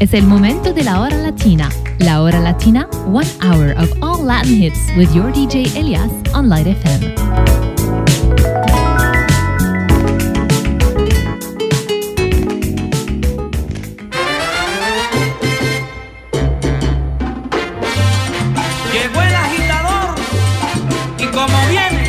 Es el momento de la hora latina. La hora latina, 1 hour of all Latin hits with your DJ Elias on Light FM. Llegó el agitador y como viene.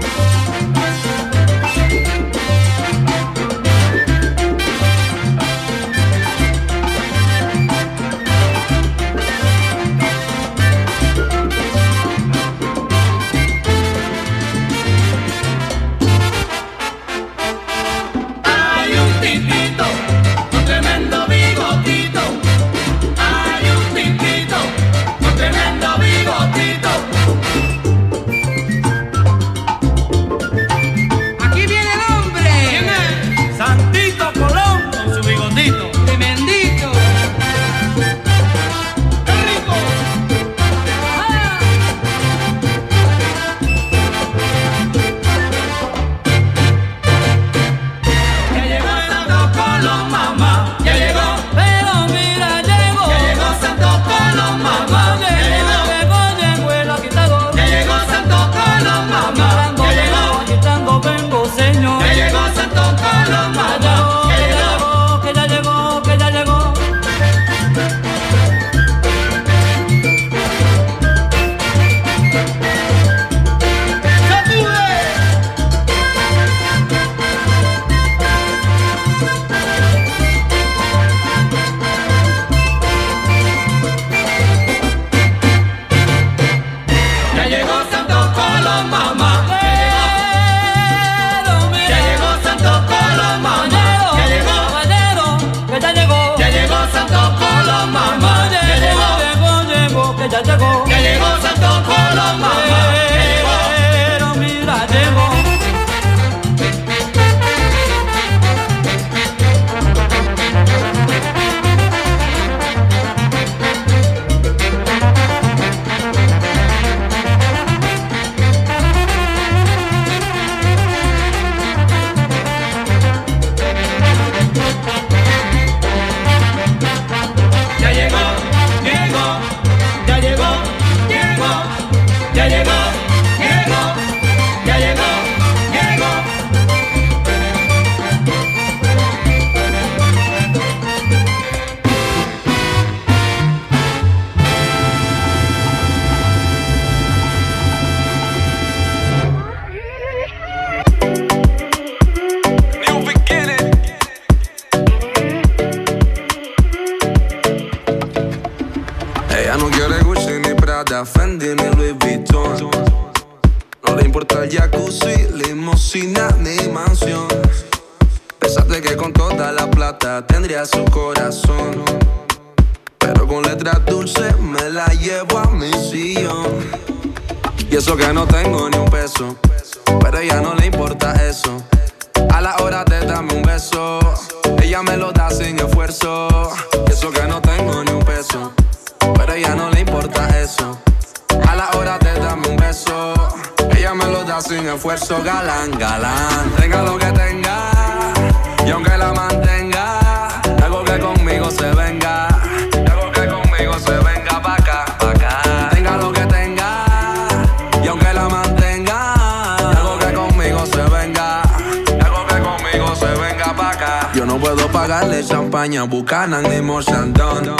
Y eso que no tengo ni un peso, pero a ella no le importa eso. A la hora de darme un beso, ella me lo da sin esfuerzo. Y eso que no tengo ni un peso, pero a ella no le importa eso. A la hora de darme un beso, ella me lo da sin esfuerzo. Galán, galán, tenga lo que tenga, y aunque la mantenga, algo que conmigo se venga, algo que conmigo se venga pa' acá, pa' acá. Tenga lo que tenga, y aunque la mantenga, algo que conmigo se venga, algo que conmigo se venga pa' acá. Yo no puedo pagarle champaña, Buchanan ni Mochandon.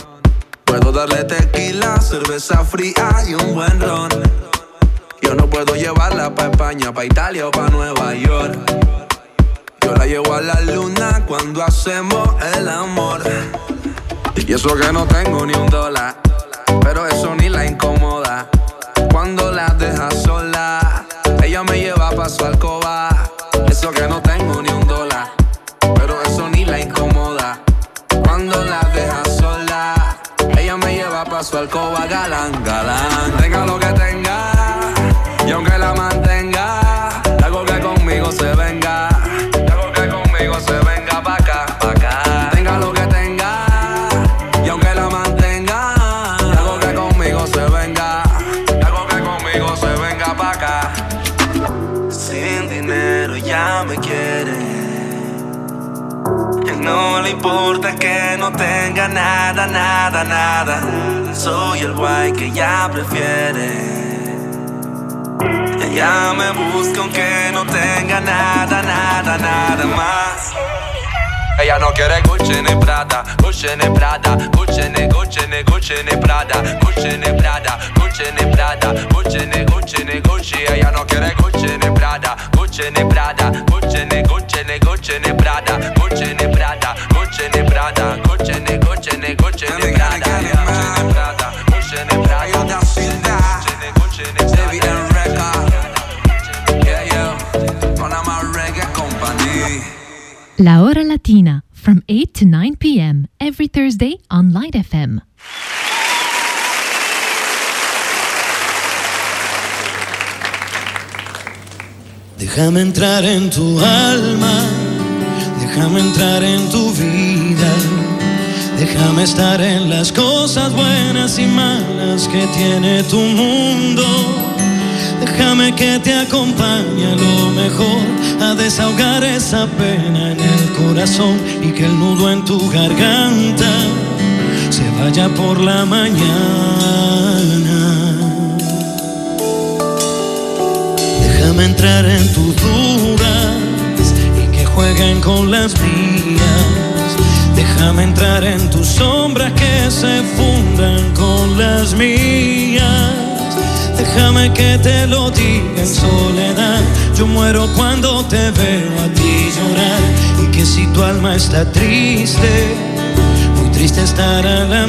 Puedo darle tequila, cerveza fría y un buen ron. Yo no puedo llevarla pa' España, pa' Italia o pa' Nueva York. Yo la llevo a la luna cuando hacemos el amor. Y eso que no tengo ni un dólar, pero eso ni la incomoda. Cuando la deja sola, ella me lleva pa' su alcoba. Eso que no tengo ni un dólar, pero eso ni la incomoda. Cuando la deja sola, ella me lleva pa' su alcoba. Galán, galán, tenga lo que tenga, y aunque la mantenga, algo que conmigo se venga, algo que conmigo se venga pa' acá, pa' acá. Tenga lo que tenga, y aunque la mantenga, algo que conmigo se venga, algo que conmigo se venga pa' acá. Sin dinero ya me quiere, y no le importa que no tenga tenga nada, nada, nada. Soy el guay que ella prefiere. Ella me busca aunque no tenga nada, nada, nada más. Ella no quiere Gucci ni Prada, Gucci ni Prada, Gucci ni Gucci ni Gucci ni Prada, Gucci ni Prada, Gucci ni Prada, Gucci ni Gucci ni Gucci. Ella no quiere Gucci ni Prada, Gucci ni Prada, Gucci ni Gucci ni Gucci ni Prada, Gucci ni Prada, Gucci ni Prada, Gucci ni Gucci ni Gucci ni Prada, Gucci ni Prada, Gucci ni Prada, Gucci ni Gucci ni Prada. La Hora Latina, from 8 to 9 p.m. every Thursday on Light FM. Déjame entrar en tu alma, déjame entrar en tu vida, déjame estar en las cosas buenas y malas que tiene tu mundo. Déjame que te acompañe a lo mejor, a desahogar esa pena en el corazón y que el nudo en tu garganta se vaya por la mañana. Déjame entrar en tus dudas y que jueguen con las mías. Déjame entrar en tus sombras que se fundan con las mías. Déjame que te lo diga en soledad. Yo muero cuando te veo a ti llorar. Y que si tu alma está triste, muy triste estará la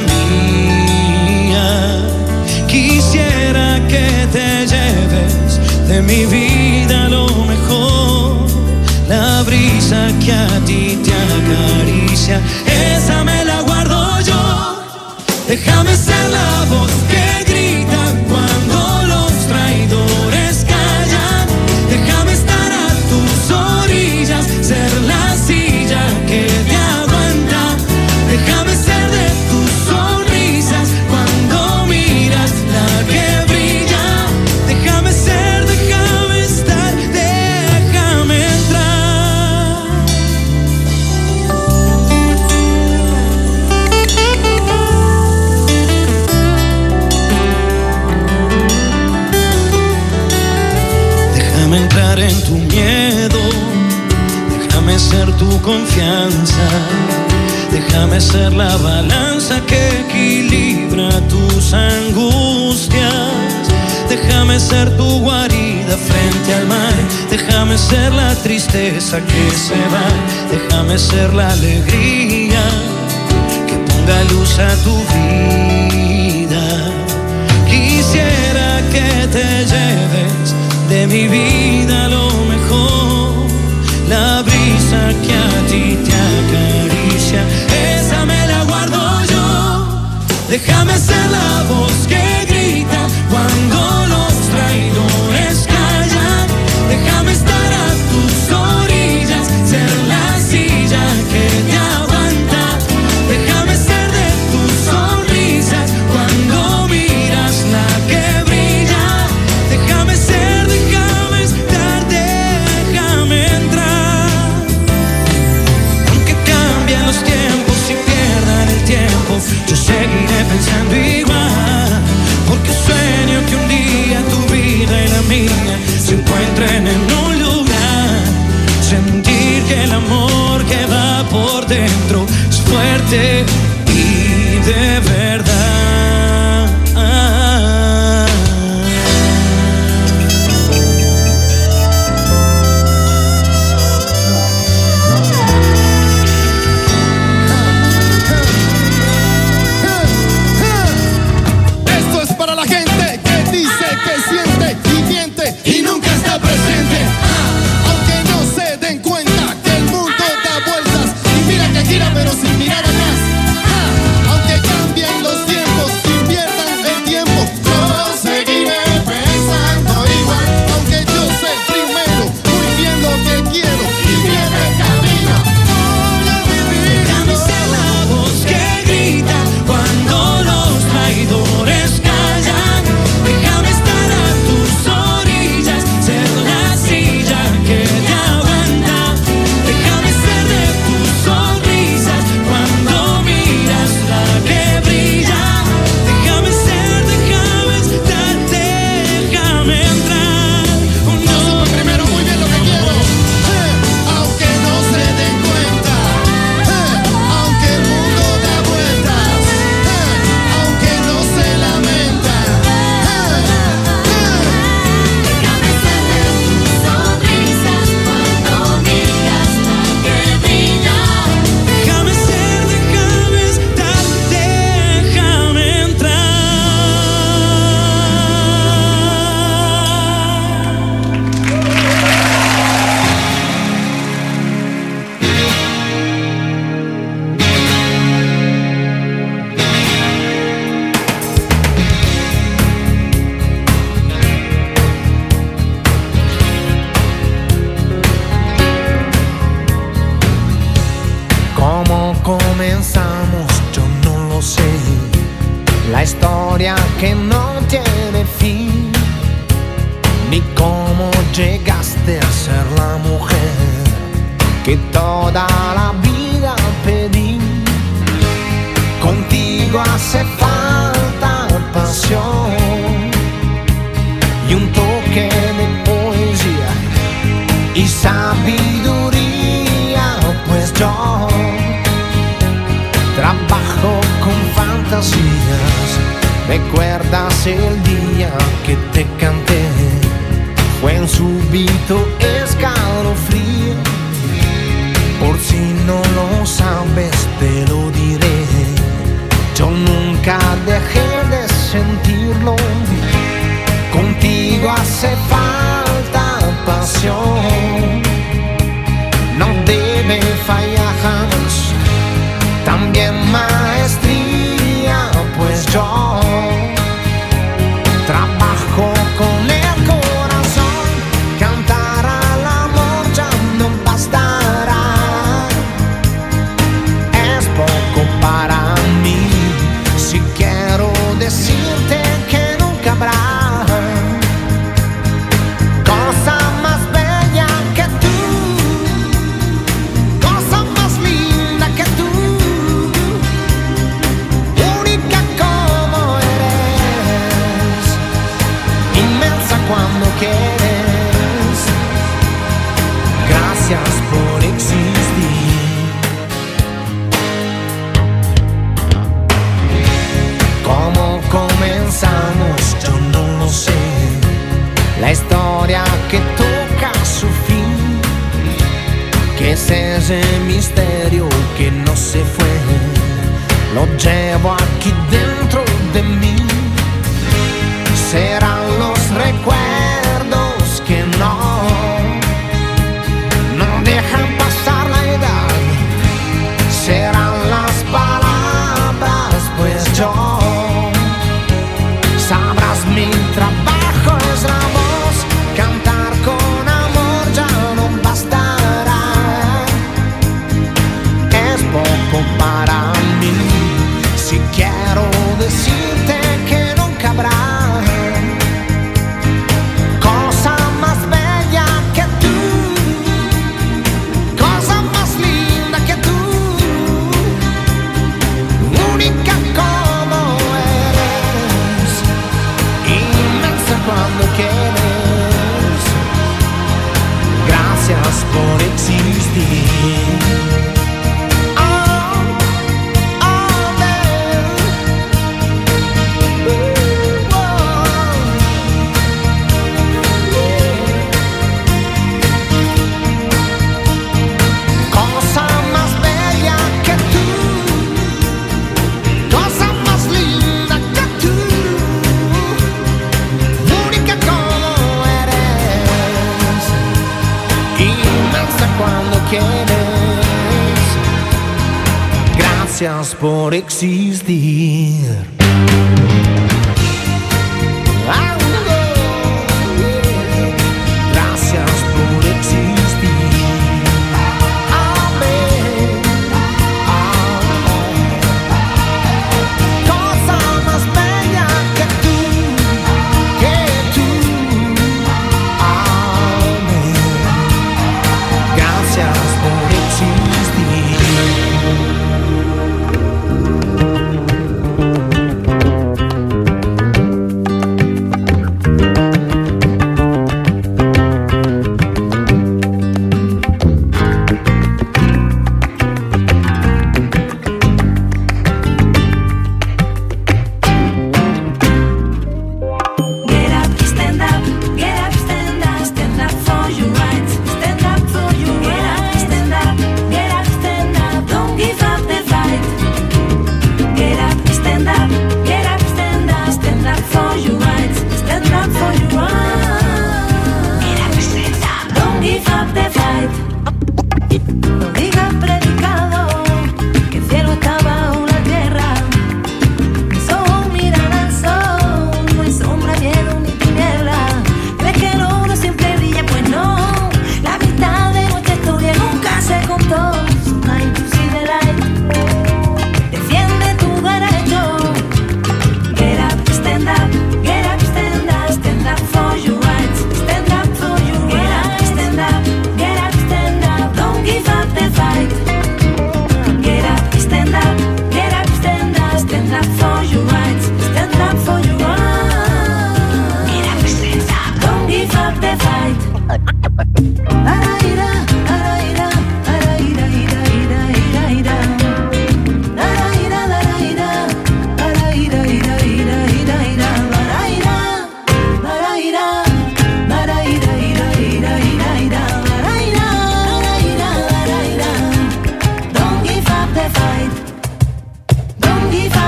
mía. Quisiera que te lleves de mi vida lo mejor, la brisa que a ti te acaricia, esa me la guardo yo. Déjame ser la voz que grita cuando los traidores callan. Déjame estar a tus orillas, ser la silla que te aguanta. Déjame ser de tus sonrisas cuando miras la que brilla. Déjame ser, déjame estar, déjame entrar. Déjame entrar en tu miedo, déjame ser tu confianza. Déjame ser la balanza que equilibra tus angustias. Déjame ser tu guarida frente al mar. Déjame ser la tristeza que se va. Déjame ser la alegría que ponga luz a tu vida. Quisiera que te lleves de mi vida lo mejor, la brisa que a ti te acaricia, esa me la guardo yo. Déjame ser la voz que grita cuando los traidores callan. Déjame estar a tus orillas, ser la silla que te aguanta. Déjame ser de tus sonrisas cuando miras la que brilla. Déjame ser, déjame estar, déjame entrar. Aunque cambien los tiempos y pierdan el tiempo, yo seguiré pensando igual. Porque sueño que un día tu vida y la mía se encuentren en un lugar. Sentir que el amor que va por dentro es fuerte y de verdad. Esto es para la gente que dice que siente y miente y nunca está presente. Aunque no se den cuenta que el mundo da vueltas y mira que gira pero sin mirar atrás. Aunque cambien los tiempos historia que no tiene fin, ni cómo llegaste a ser la mujer que toda la vida pedí. Contigo hace falta pasión y un toque de poesía y sabiduría, pues yo trabajo con fantasías. ¿Recuerdas el día que te canté? Fue un súbito escalofrío. Por si no lo sabes te lo diré, yo nunca dejé de sentirlo. Contigo hace falta pasión, no debe fallar jamás. También maestría, pues yo trabajo con el corazón. Cantar al amor ya no bastará, es poco para mí. Si quiero decirte que nunca habrá cosa más bella que tú, cosa más linda que tú, única como eres, inmensa cuando quieres. Gracias por existir. ¿Cómo comenzamos? Yo no lo sé. La historia que toca su fin, que es ese misterio que no se fue, lo llevo aquí dentro de mí. Serán los recuerdos que no dejan pasar la edad. Serán las palabras, pues yo sabrás mi trabajo es la voz. Cantar con amor ya no bastará, es poco para mí. Si quiero decirte que nunca habrá cosa más bella que tú, cosa más linda que tú, única como eres, inmensa cuando quieres. Gracias por existir. Cosa más bella que tú, cosa más linda que tú, única como eres, inmensa cuando quieres. Gracias por existir. Gracias por existir. Amén. Cosa más bella que tú, que tú. Amén. Gracias por existir.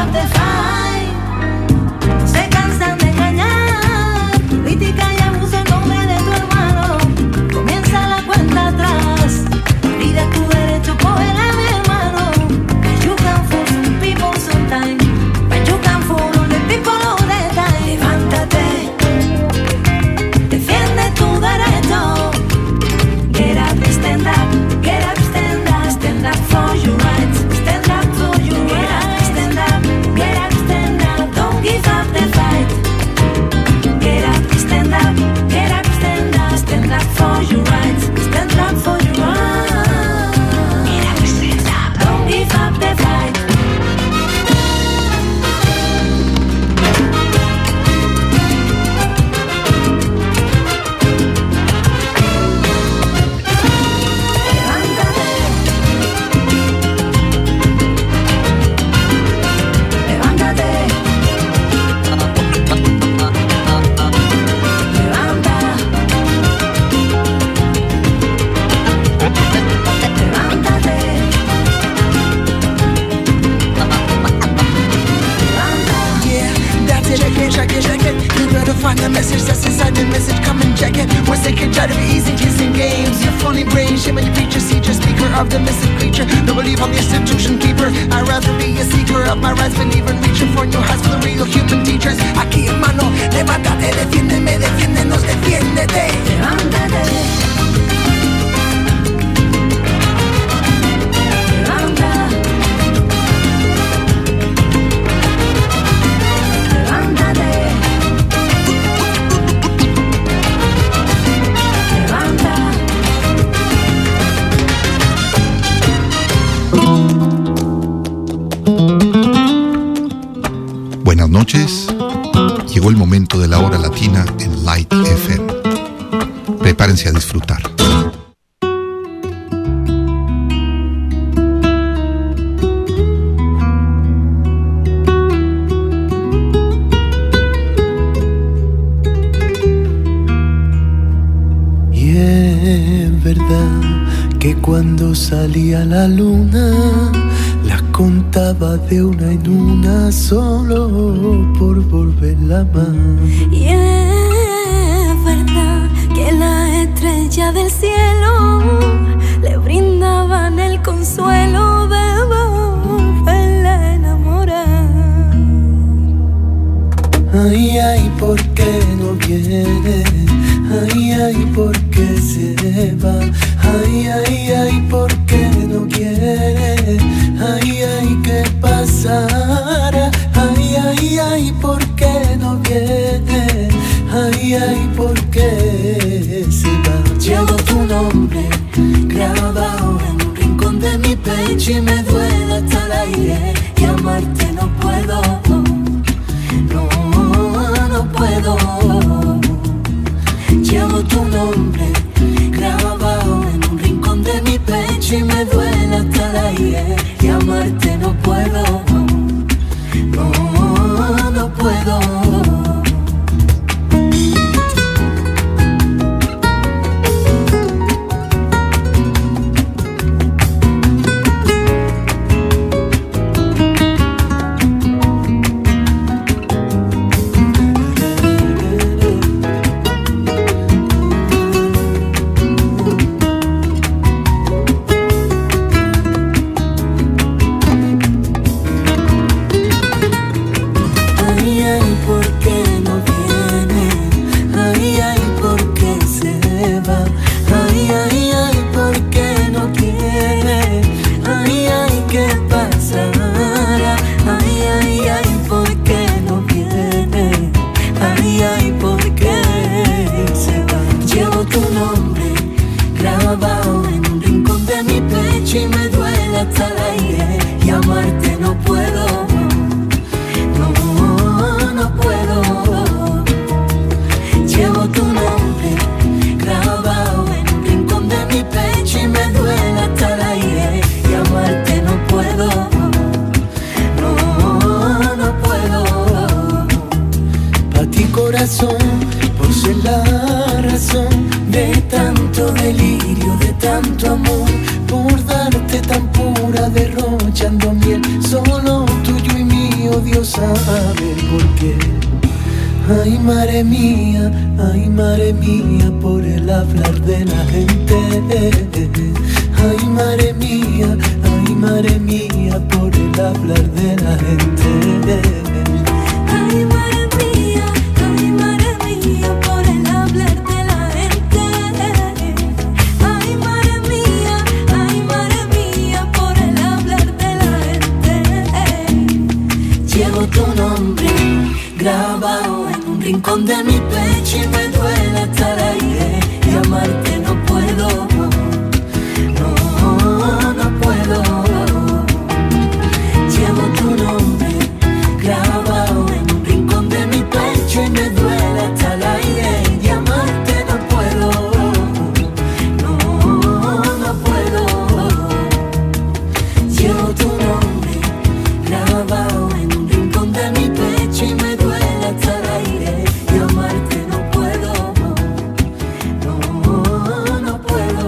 up the fight. No se cansan de engañar, crítica y abuso en nombre de tu hermano. Comienza la cuenta atrás, pide tu derecho, cógela mi hermano. You can fool some people sometimes, but you can fool all the people all the time. Levántate, defiende tu derecho. Get up, stand up, get up, stand up for your rights. Stand up for your rights. Stand up, get up, stand up, don't give up the fight. Get up, stand up, get up, stand up for your rights. Stand up for your rights. Get up, stand up, don't give up the fight. Find the message that's inside the message, come and check it. Once they can try to be easy, kissing games. Your funny brain, shame on your preacher, see just speaker of the missing creature. No believe I'm the institution keeper. I'd rather be a seeker of my rights, believer, reaching for new heights for the real human teachers. Aquí hermano, levántate, defiéndeme, defiéndenos, defiéndete. Levántate. Buenas noches, llegó el momento de la hora latina en Light FM. Prepárense a disfrutar. Y es verdad que cuando salía la luna las contaba de una en una solo por volverla más. Y es verdad que las estrellas del cielo le brindaban el consuelo de volverla a enamorar. Ay, ay, ¿por qué no viene? Ay, ay, ¿por qué se va? Ay, ay, ay, ¿por qué no quiere? Ay, ay, ¿qué pasará? Ay, ay, ay, ¿por qué no viene? Ay, ay, ¿por qué se va? Llevo tu nombre grabado en un rincón de mi pecho y me duele hasta el aire. Y amarte no puedo, no puedo. Llevo tu nombre grabado en un rincón de mi pecho y me duele hasta el aire. Y amarte no puedo, no puedo. Por ser la razón de tanto delirio, de tanto amor, por darte tan pura, derrochando miel, solo tuyo y mío quiero saber por qué. Ay, madre mía, por el hablar de la gente. Ay, madre mía, por el hablar de la gente. Ay, madre mía, por el hablar de la gente. Ay, madre mía, por el hablar de la gente. Llevo tu nombre grabado en un rincón de mi pecho y me duele estar ahí, y amarte no puedo, no puedo. Llevo tu nombre grabado en un rincón de mi pecho y me duele estar ahí, y amarte no puedo, no puedo. Llevo tu nombre grabado en un rincón de mi pecho y me duele estar ahí, y amarte no puedo, no puedo.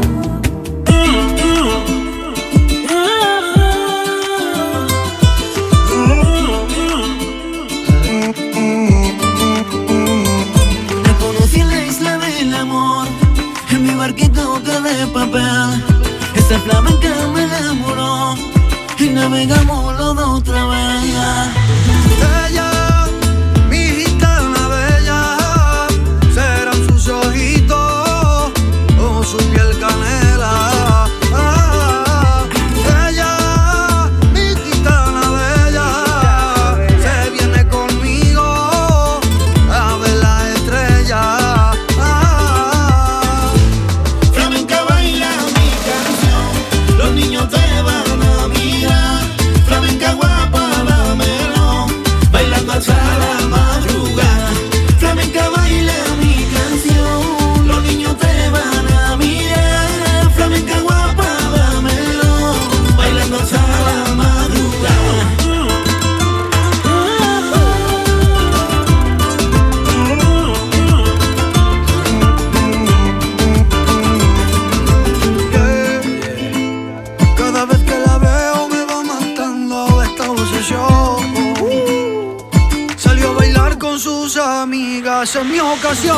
Te conocí en la isla del amor, en mi barquito de papel. Esa flamenca me enamoró y navegamos los dos otra vez. Ella, mi gitana bella, serán sus ojitos o su piel canela. Ella, mi gitana bella, se viene conmigo a ver las estrellas. Flamenca baila mi canción, los niños te van a mirar. Flamenca guapa, dámelo, bailando hasta la madrugada. Flamenca baila mi canción, los niños te van a mirar. Flamenca guapa, dámelo, bailando hasta la madrugada. Cada vez que la veo me va matando esta obsesión. Salió a bailar con sus amigas en mi ocasión.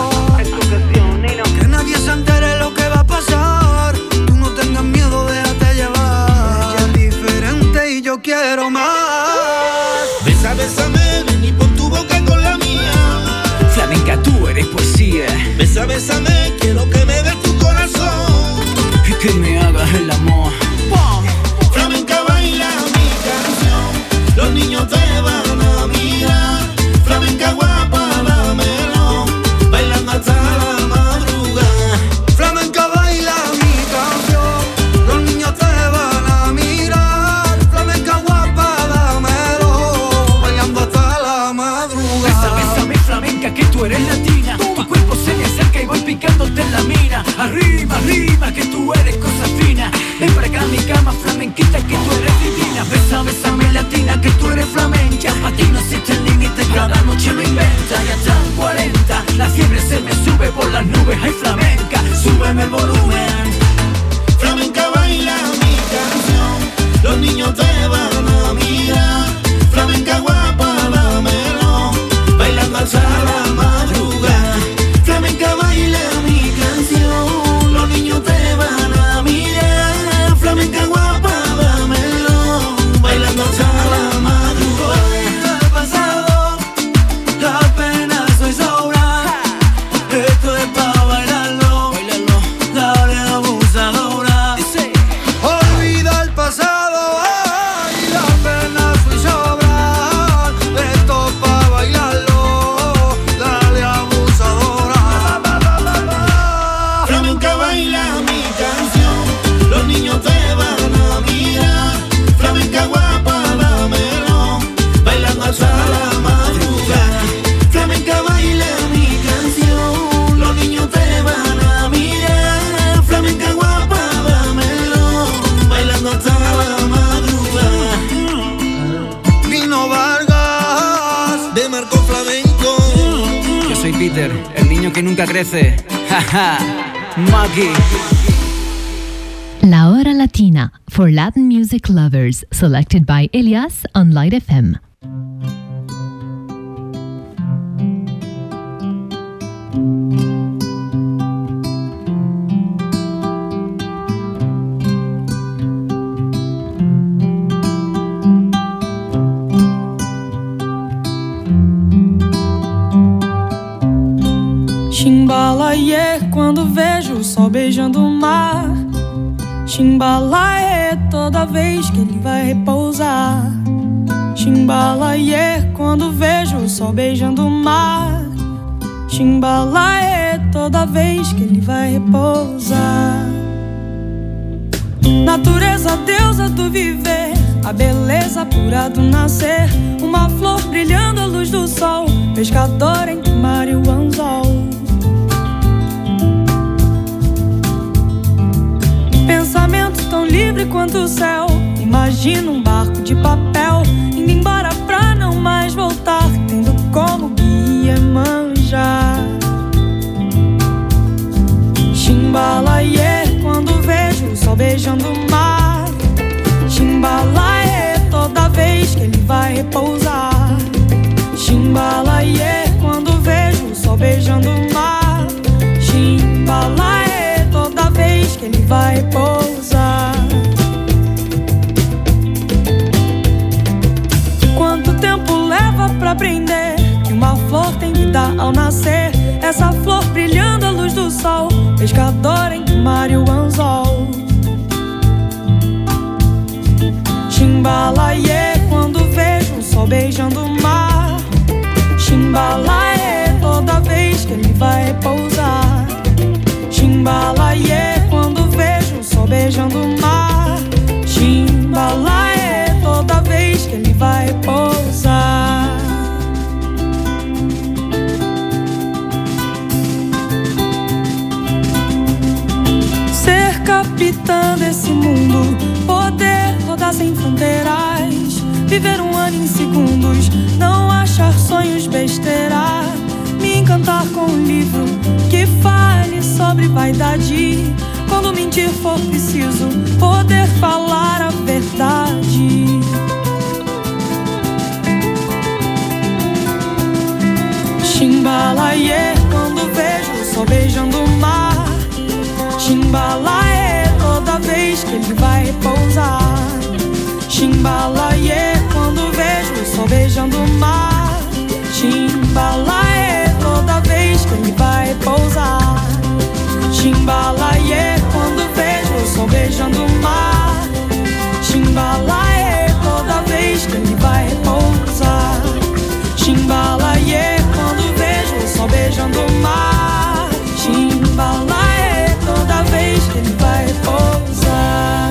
Que nadie se entere lo que va a pasar. Tú no tengas miedo, déjate llevar. Ella es diferente y yo quiero más. Besa, bésame, ven y pon tu boca con la mía. Flamenca, tú eres poesía. Besa, bésame, quiero que me des tu corazón y que me hagas el amor. Flamenca baila mi canción, los niños te van a mirar. Flamenca guapa, dámelo, bailando hasta la madrugada. Flamenca baila mi canción, los niños te van a mirar. Flamenca guapa, dámelo, bailando hasta la madrugada. Besa, bésame, flamenca, que tú eres latina. Tu cuerpo se me acerca y voy picándote en la mira. Arriba, arriba, que tú eres cosa fina. Ven para acá a mi cama, flamenquita, que tú eres divina. Besa, bésame, latina, que tú eres flamenca. Pa' ti no existe el límite, cada noche lo inventa. Ya están 40, la fiebre se me sube por las nubes. Ay, flamenca, súbeme el volumen. Flamenca baila mi canción, los niños te van a mirar. Flamenca guapa, dámelo, bailando hasta la madrugada. Flamenca baila mi canción, los niños te van a mirar. Flamenca guapa, dámelo, bailando hasta la madrugada. El pasado, la pena soy sobra. Esto es pa' bailarlo, dale abusadora. Olvida el pasado, ay, la pena fui sobrar. Esto pa' bailarlo, dale abusadora. Flamenca baila mi canción, los niños te van a mirar. Flamenca guapa, dámelo, bailando hasta la madrugada. Flamenca baila mi canción, los niños te van a mirar. Flamenca guapa, dámelo, bailando hasta la madrugada. Nino Vargas, de Marco Flamenco. Yo soy Peter, el niño que nunca crece. Jaja, Maki. La Hora Latina for Latin music lovers, selected by Elias on Light FM. Chimbalaê, quando vejo o sol beijando o mar. Chimbalaê, toda vez que ele vai repousar. Chimbalaê, quando vejo o sol beijando o mar. Chimbalaê, toda vez que ele vai repousar. Natureza, deusa do viver, a beleza pura do nascer. Uma flor brilhando à luz do sol, pescador entre o mar e o anzol. Pensamento tão livre quanto o céu. Imagino um barco de papel indo embora pra não mais voltar, tendo como guia Iemanjá. Chimbalaê, quando vejo o sol beijando o mar. Chimbalaê, toda vez que ele vai repousar. Chimbalaê, quando vejo o sol beijando o mar. Chimbalaê, toda vez que ele vai repousar. Quanto tempo leva pra aprender que uma flor tem vida ao nascer? Essa flor brilhando à luz do sol, pescador entre o mar e o anzol. Chimbalaê, quando vejo o sol beijando o mar. Chimbalaê, toda vez que ele vai repousar. Chimbalaê, quando vejo o sol beijando o mar. Chimbalaê, toda vez que ele vai repousar. Ser capitã desse mundo, poder rodar sem fronteiras, viver um ano em segundos, não achar sonhos besteira. Me encantar com um livro que fale sobre vaidade. Quando mentir for preciso, poder falar a verdade. Chimbalaê, quando vejo o sol beijando o mar. Chimbalaê, toda vez que ele vai repousar. Chimbalaê, quando vejo o sol beijando o mar. Chimbalaê, toda vez que ele vai repousar. Chimbalaê, quando vejo o sol beijando o mar. Chimbalaê, toda vez que ele vai repousar. Chimbalaê, quando vejo o sol beijando o mar. Chimbalaê, toda vez que ele vai repousar.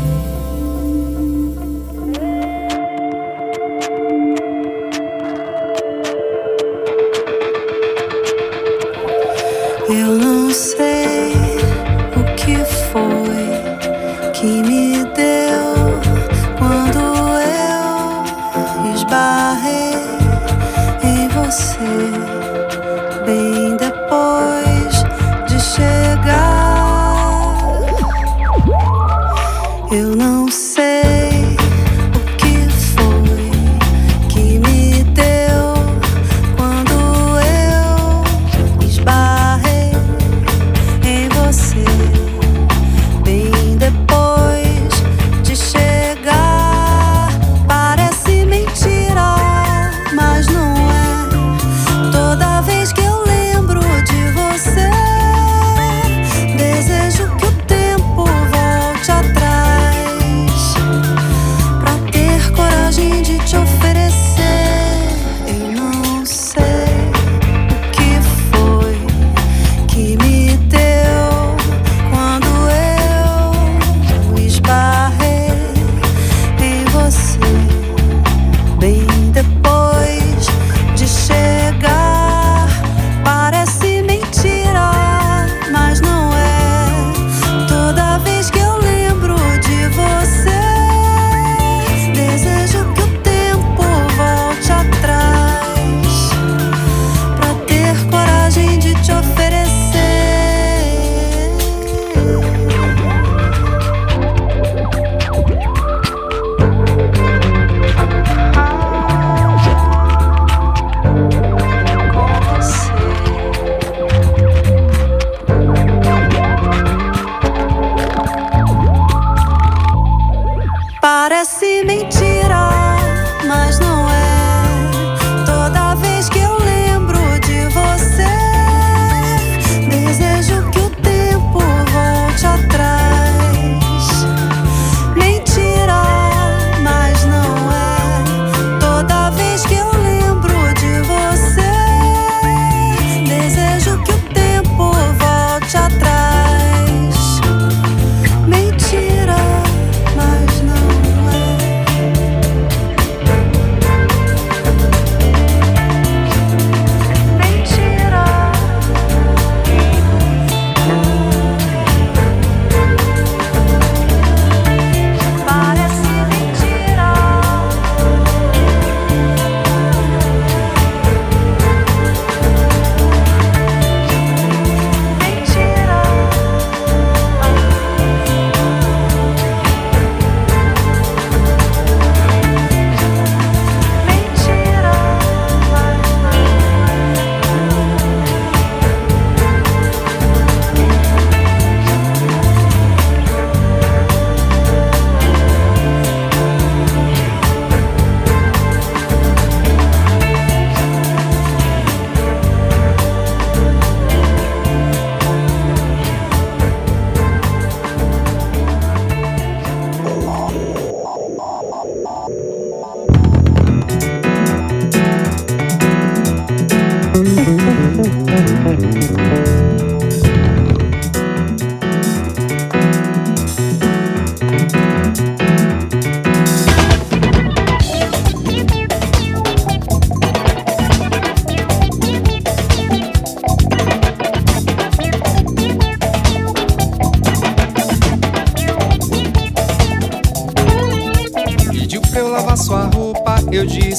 Eu não sei o que foi que me deu quando eu esbarrei em você, bem depois de chegar. Eu não sei o que foi que me deu quando eu esbarrei em você, bem depois de chegar. Parece mentira, mas não é. Toda vez que eu lembro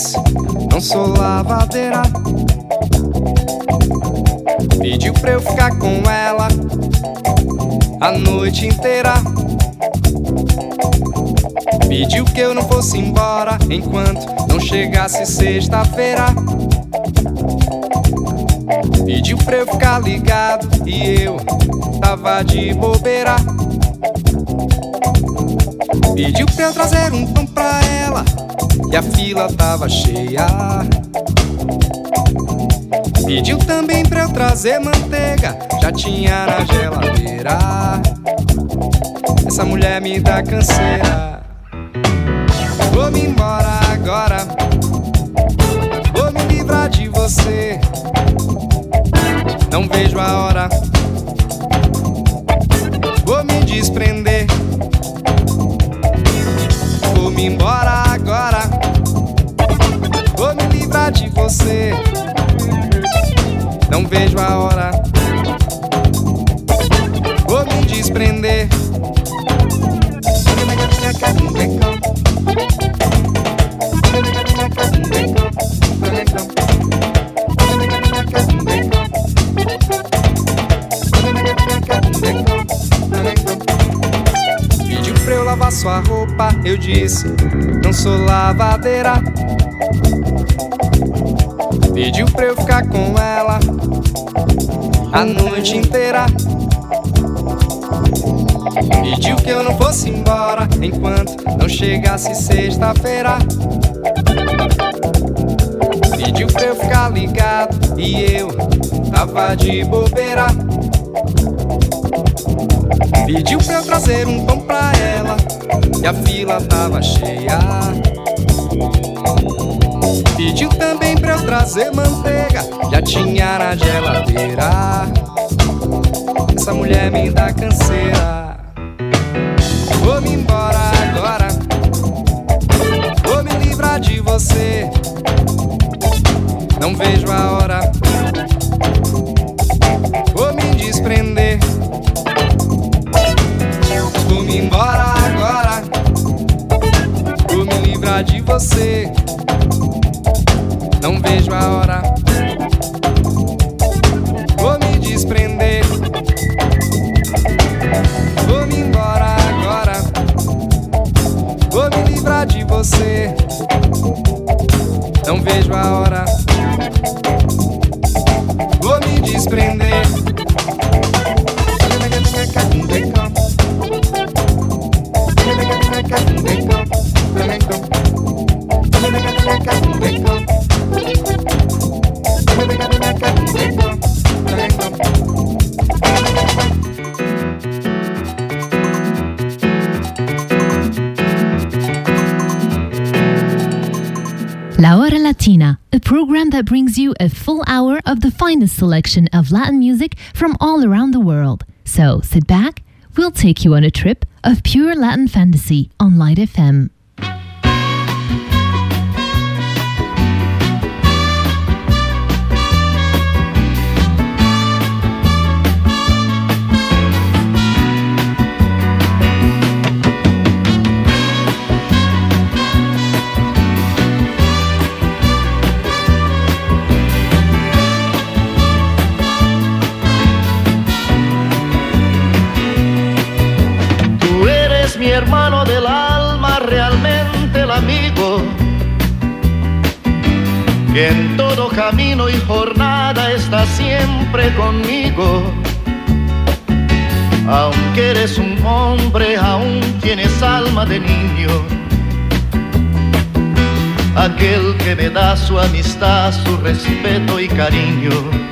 disse, não sou lavadeira. Pediu pra eu ficar com ela a noite inteira. Pediu que eu não fosse embora enquanto não chegasse sexta-feira. Pediu pra eu ficar ligado e eu tava de bobeira. Pediu pra eu trazer um pão pra ela e a fila tava cheia. Pediu também pra eu trazer manteiga, já tinha na geladeira. Essa mulher me dá canseira. Vou-me embora agora, vou me livrar de você. Não vejo a hora, vou me desprender. Vou-me embora agora, vou me livrar de você. Não vejo a hora, vou me desprender. Pediu pra eu lavar sua roupa, eu disse, não sou lavadeira. Pediu pra eu ficar com ela a noite inteira. Pediu que eu não fosse embora enquanto não chegasse sexta-feira. Pediu pra eu ficar ligado e eu tava de bobeira. Pediu pra eu trazer um pão pra ela e a fila tava cheia. Pediu também pra eu trazer manteiga, já tinha na geladeira. Essa mulher me dá canseira. Vou-me embora agora, vou me livrar de você. Não vejo a hora, vou me desprender. Vou-me embora agora, vou me livrar de você. Não vejo a hora, vou me desprender. Vou-me embora agora, vou me livrar de você. Não vejo a hora, vou me desprender. La Hora Latina, a program that brings you a full hour of the finest selection of Latin music from all around the world. So sit back, we'll take you on a trip of pure Latin fantasy on Light FM. Mi hermano del alma, realmente el amigo, que en todo camino y jornada está siempre conmigo. Aunque eres un hombre, aún tienes alma de niño. Aquel que me da su amistad, su respeto y cariño.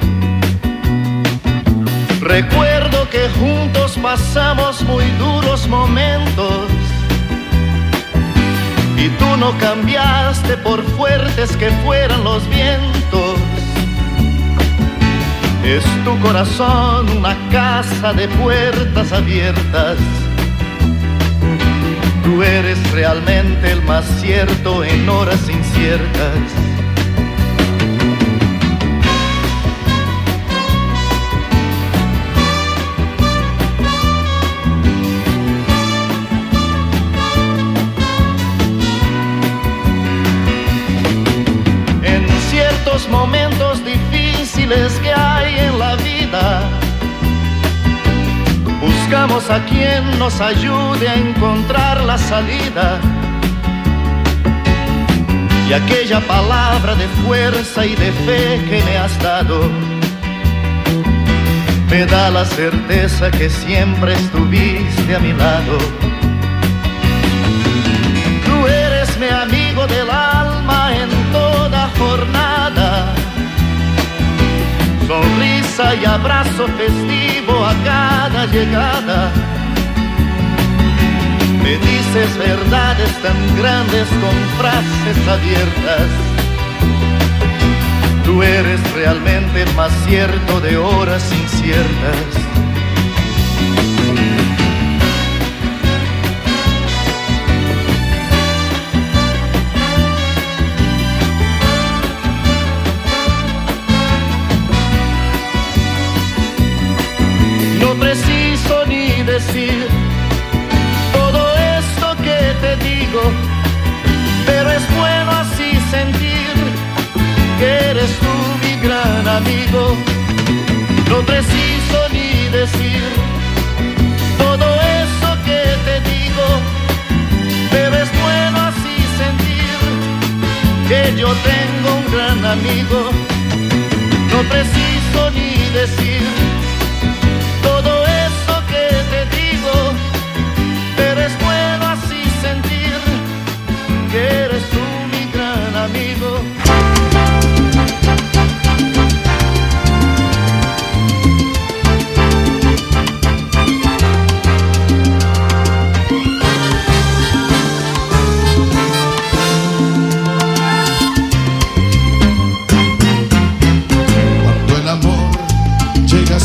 Recuerdo que juntos pasamos muy duros momentos y tú no cambiaste por fuertes que fueran los vientos. Es tu corazón una casa de puertas abiertas. Tú eres realmente el más cierto en horas inciertas. los momentos difíciles que hay en la vida, buscamos a quien nos ayude a encontrar la salida. Y aquella palabra de fuerza y de fe que me has dado me da la certeza que siempre estuviste a mi lado. Tú eres mi amigo del alma en toda jornada, sonrisa y abrazo festivo a cada llegada. Me dices verdades tan grandes con frases abiertas. Tú eres realmente el más cierto de horas inciertas. No preciso ni decir te digo, pero es bueno así sentir que eres tú mi gran amigo. No preciso ni decir todo eso que te digo, pero es bueno así sentir que yo tengo un gran amigo. No preciso ni decir todo eso que te digo, pero es bueno así sentir que eres tú mi gran amigo. Cuando el amor llega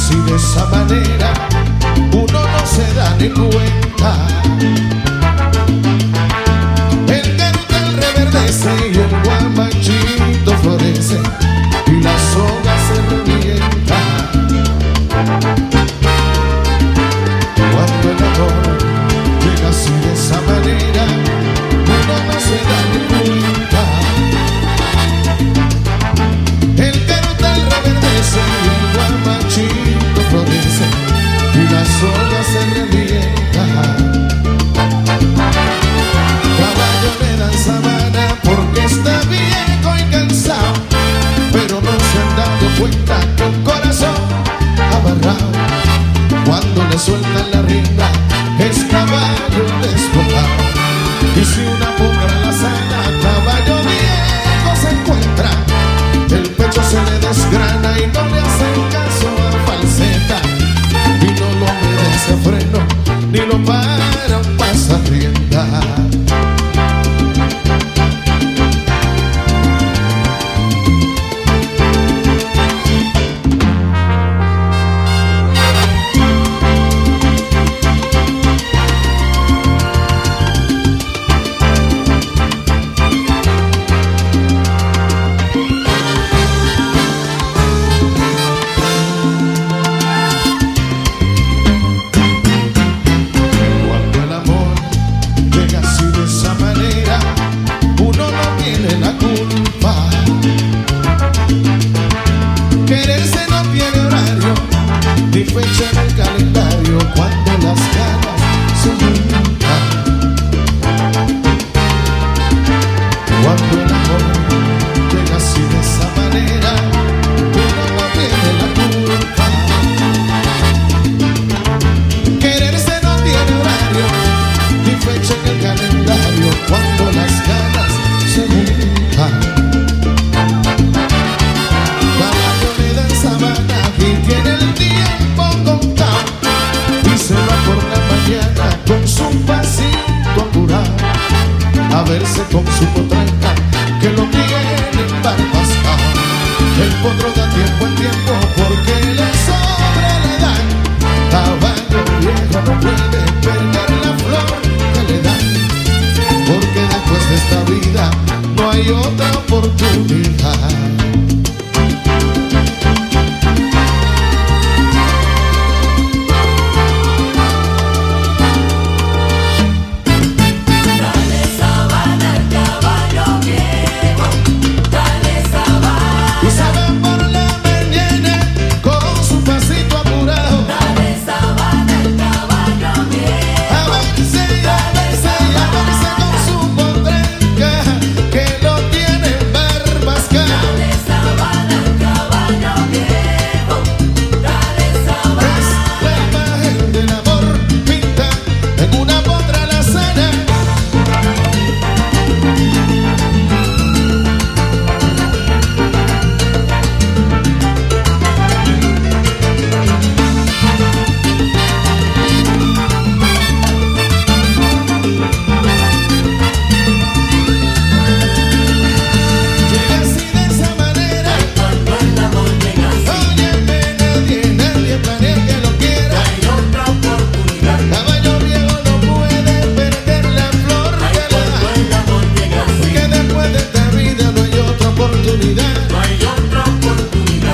oportunidad. No hay otra oportunidad.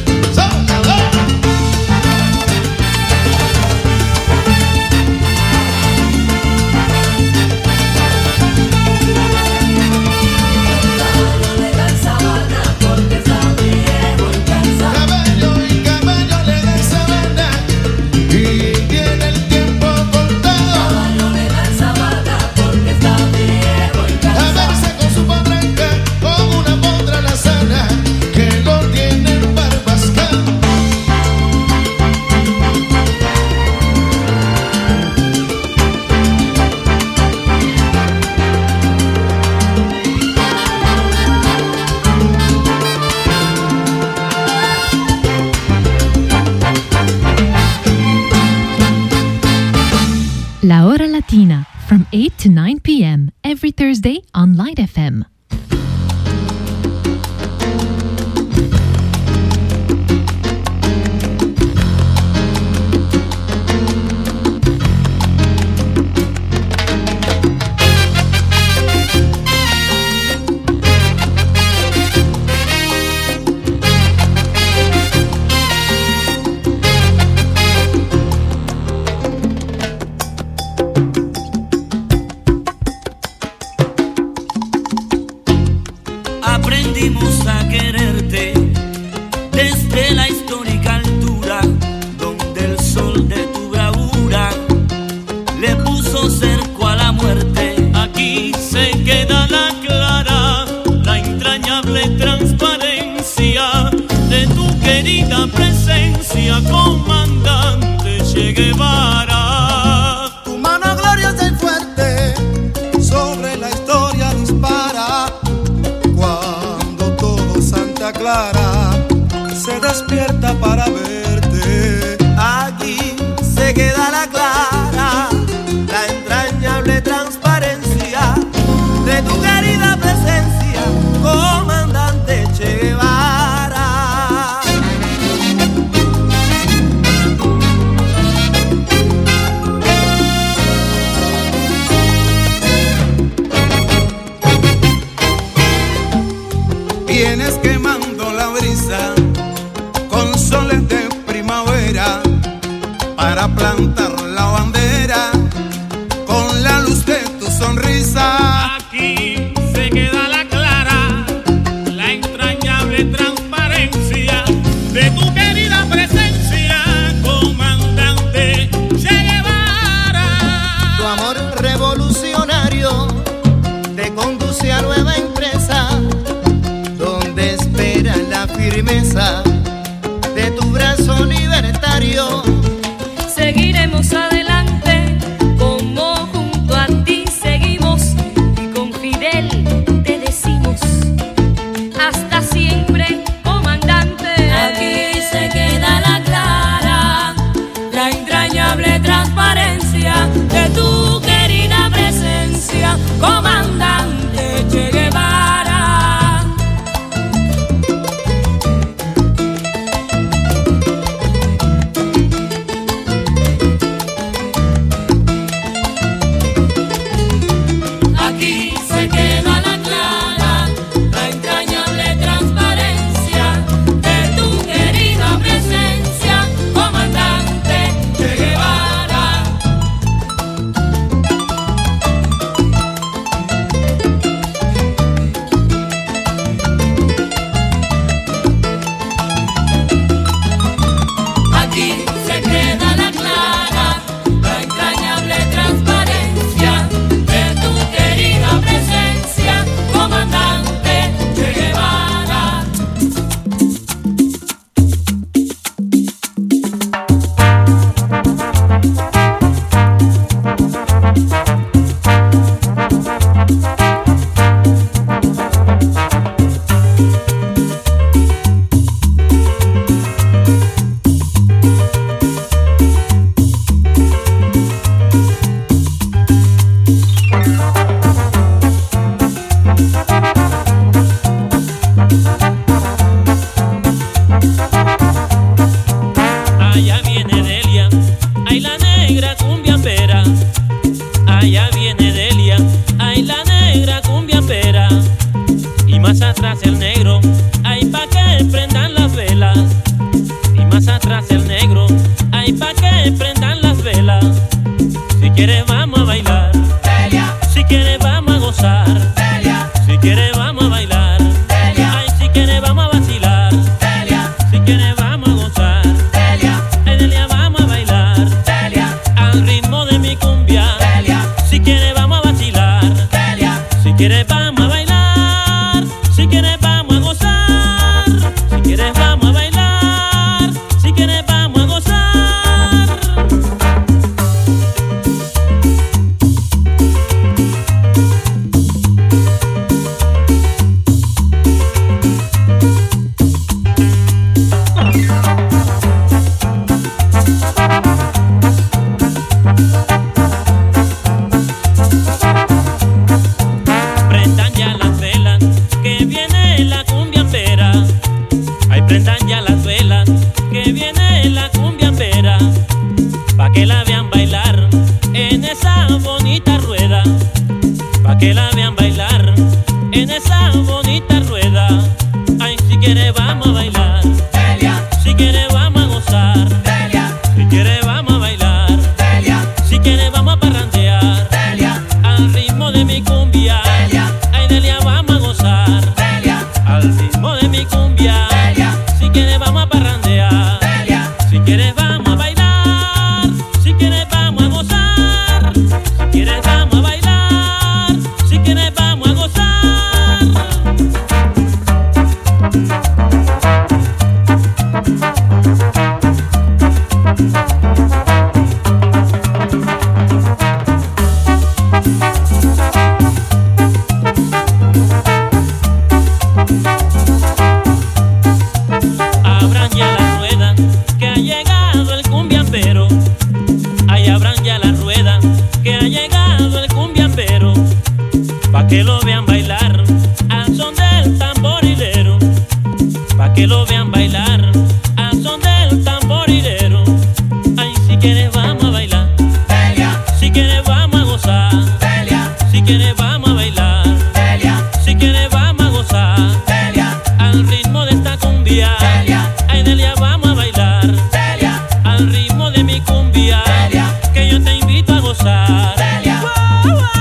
Caballo le dan sabana porque está viejo y cansado. Caballo y caballo le dan sabana y tiene el tiempo contado. Caballo le dan sabana porque está viejo y A cansado. verse con su potranca, con una potra alazana que lo tiene barbascado. La Hora Latina, from 8 to 9 p.m. every Thursday on Light FM. Aprendimos a quererte desde la histórica altura, donde el sol de tu bravura le puso cerco a la muerte. Aquí se queda la clara, la entrañable transparencia de tu querida presencia, comandante Che Guevara. Tu mano gloriosa y fuerte sobre la historia dispara. Cuando todo Santa Clara se despierta para verte. Aquí se queda la clara, la entrañable transparencia de tu querida presencia, comandante Che Guevara. Vienes quemando la brisa con soles de primavera para plantar la bandera con la luz de tu sonrisa. Aquí se queda la clara, la entrañable transparencia de tu querida presencia, comandante Che Guevara. Tu amor revolucionario te conduce a nueva empresa, donde espera la firmeza de tu brazo libertario. Seguiremos adelante, como junto a ti seguimos, y con Fidel te decimos, hasta siempre, comandante. Aquí se queda la clara, la entrañable transparencia de tu querida presencia, comandante Che Guevara. quieres vamos a bailar, Delia. Si quieres vamos a gozar, Delia. Si quieres vamos a bailar, Delia. Si quieres vamos a parrandear, Delia. Al ritmo de mi cumbia, Delia. Ay Delia vamos a gozar, Delia. Al ritmo de mi cumbia, Delia. Si quieres vamos a parrandear, Delia. Si quieres vamos a bailar, si quieres vamos a gozar, si quieres vamos a bailar, si quieres vamos a gozar. Abran ya la rueda, que ha llegado el cumbiambero. Ay, abran ya la rueda, que ha llegado el cumbiambero. Pa' que lo vean bailar al son del tamborilero. Pa' que lo vean bailar al son del tamborilero. Ay, si quieres vamos a bailar, Delia. Si quieres vamos a gozar, Delia. Si quieres vamos a bailar, Delia. Si quieres vamos a gozar, Delia. Al ritmo de esta cumbia, Delia. Ay Delia vamos a bailar, Delia. Al ritmo de mi cumbia, Delia. Que yo te invito a gozar, Delia. Wow, wow.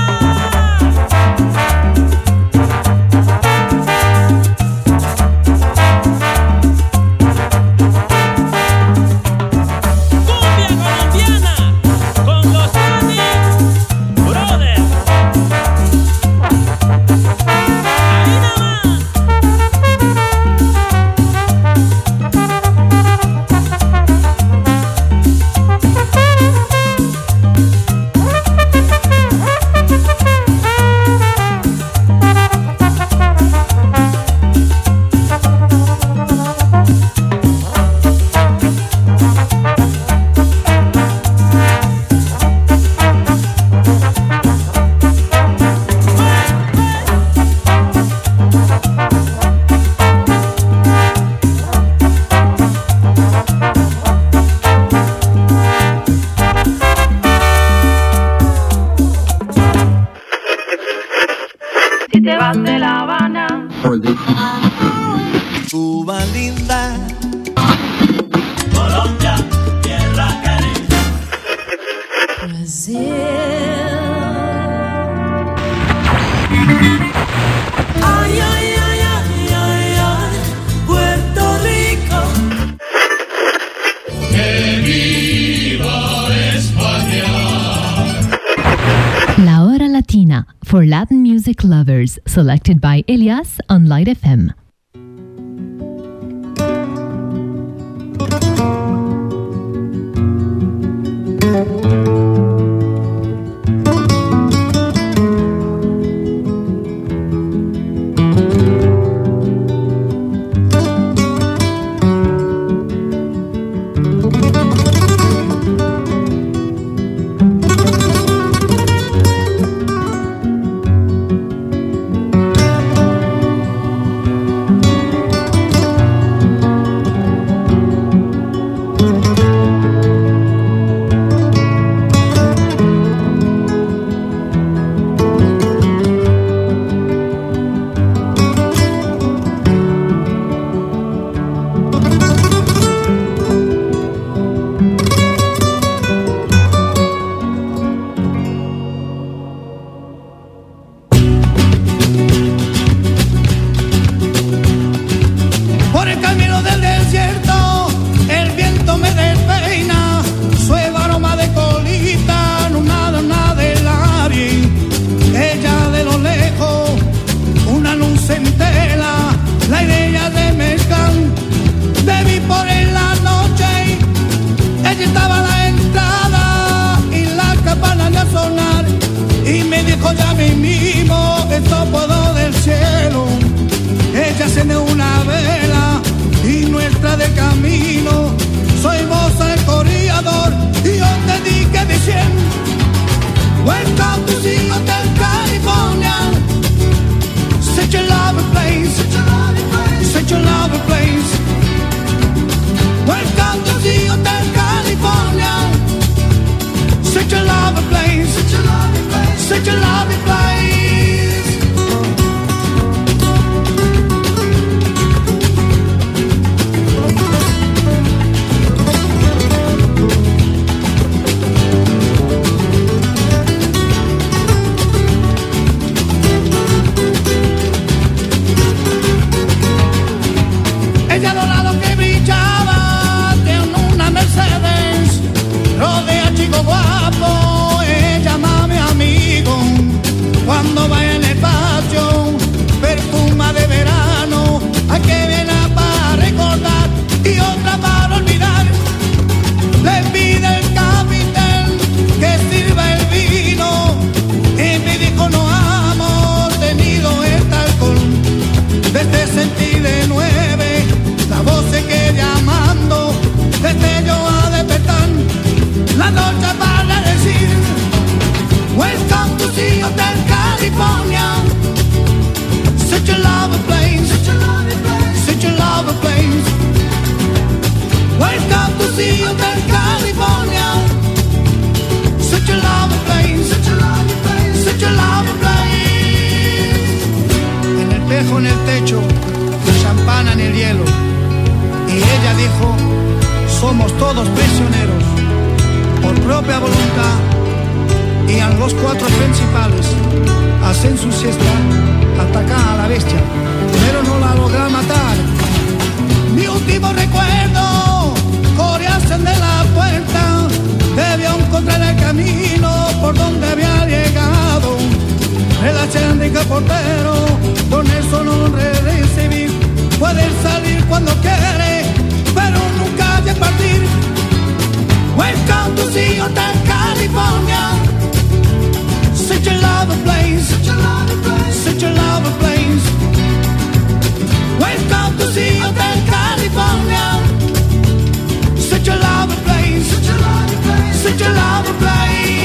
Si te vas de La Habana, Cuba linda, Colombia, tierra querida. ay, ay, ay, ay, ay, ay, Puerto Rico. ¡Que viva España! La Hora Latina, for Latin music lovers, selected by Elias on Light FM. Por el camino del desierto, el viento me despeina, suave aroma de colita, no nada del aire. Ella de lo lejos, una luz en tela, la idea de mezcal, de mí por en la noche. Ella estaba a la entrada y la campana de sonar, y me dijo ya mismo, esto puedo del cielo. Ella enciende una vela y nuestra de camino. Soy moza el corredor y yo te dije diciendo, welcome to the Hotel California. Such a lovely place, such a lovely place. Welcome to the Hotel California. Such a lovely place, such a lovely place. guapo, llámame amigo. Cuando vaya en el patio, perfuma de verano. Hay que viene para recordar y otra para olvidar. Le pide el capitán que sirva el vino. Y me dijo no hemos tenido este alcohol. Desde sentí de 9, la voz se queda llamando. Desde yo a despertar, la noche para decir welcome to the Hotel California. Such a lovely place, such a lovely place, such a lovely place. Welcome to the Hotel California. Such a lovely place, such a lovely place, such a lovely place. En el espejo en el techo, champán en el hielo. Y ella dijo, somos todos prisioneros por propia voluntad. Y a los 4 principales hacen su siesta, atacan a la bestia, pero no la logran matar. Mi último recuerdo, corriesen de la puerta, debió encontrar el camino por donde había llegado. Relación de portero, con eso no recibir. Puede salir cuando quiere, pero nunca de partir. Welcome to the Hotel California. Such a lovely place, such a lovely place, such a lovely place. Welcome to the Hotel California. Such a lovely place, such a lovely place, such a lovely place.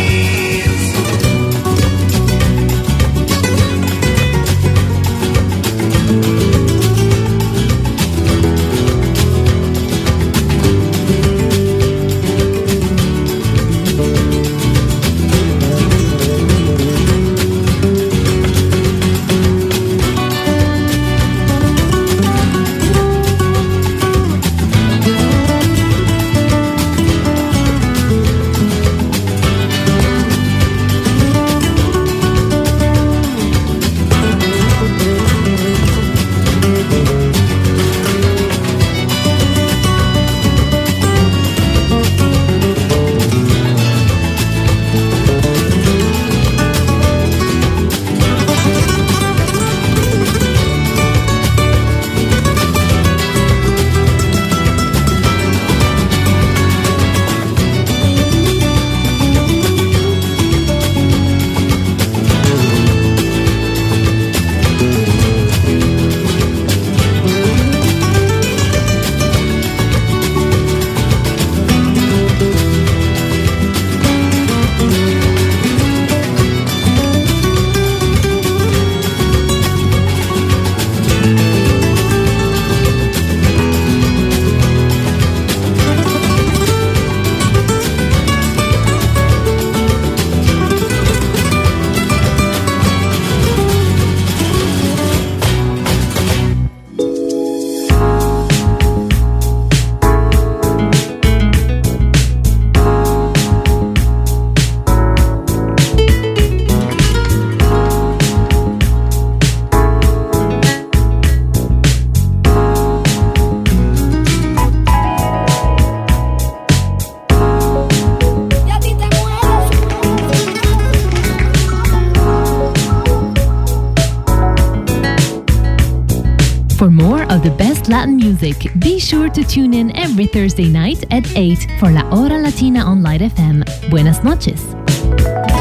For more of the best Latin music, be sure to tune in every Thursday night at 8 for La Hora Latina on Light FM. Buenas noches.